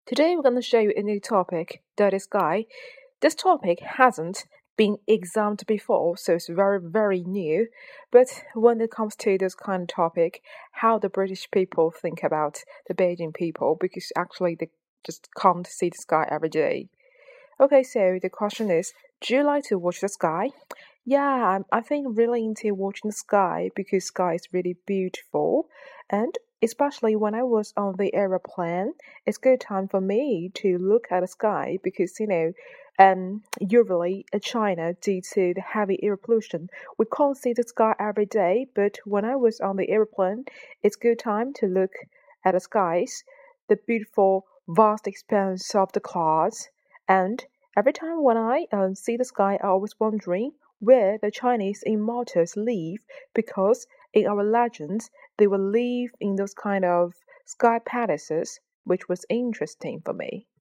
Today we're going to show you a new topic, that is sky. This topic hasn't been examined before, so it's very, very new. But when it comes to this kind of topic, how the British people think about the Beijing people, because actually they just can't see the sky every day. Okay, so the question is, do you like to watch the sky? Yeah, I think really into watching the sky because sky is really beautiful, and especially when I was on the aeroplane, it's good time for me to look at the sky because usually in China due to the heavy air pollution, we can't see the sky every day. But when I was on the airplane, it's good time to look at the skies, the beautiful vast expanse of the clouds, and every time when I see the sky, I always wondering where the Chinese immortals live because in our legends they will live in those kind of sky palaces, which was interesting for me.